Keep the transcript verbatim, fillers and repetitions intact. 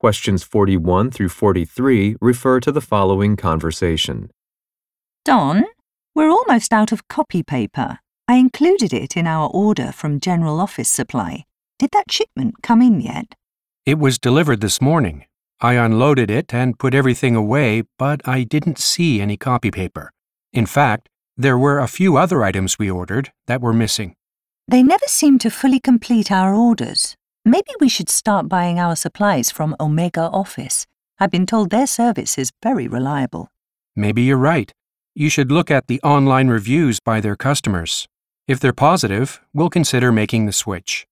Questions forty-one through forty-three refer to the following conversation. Don, we're almost out of copy paper. I included it in our order from General Office Supply. Did that shipment come in yet? It was delivered this morning. I unloaded it and put everything away, but I didn't see any copy paper. In fact, there were a few other items we ordered that were missing. They never seem to fully complete our orders. Maybe we should start buying our supplies from Omega Office. I've been told their service is very reliable. Maybe you're right. You should look at the online reviews by their customers. If they're positive, we'll consider making the switch.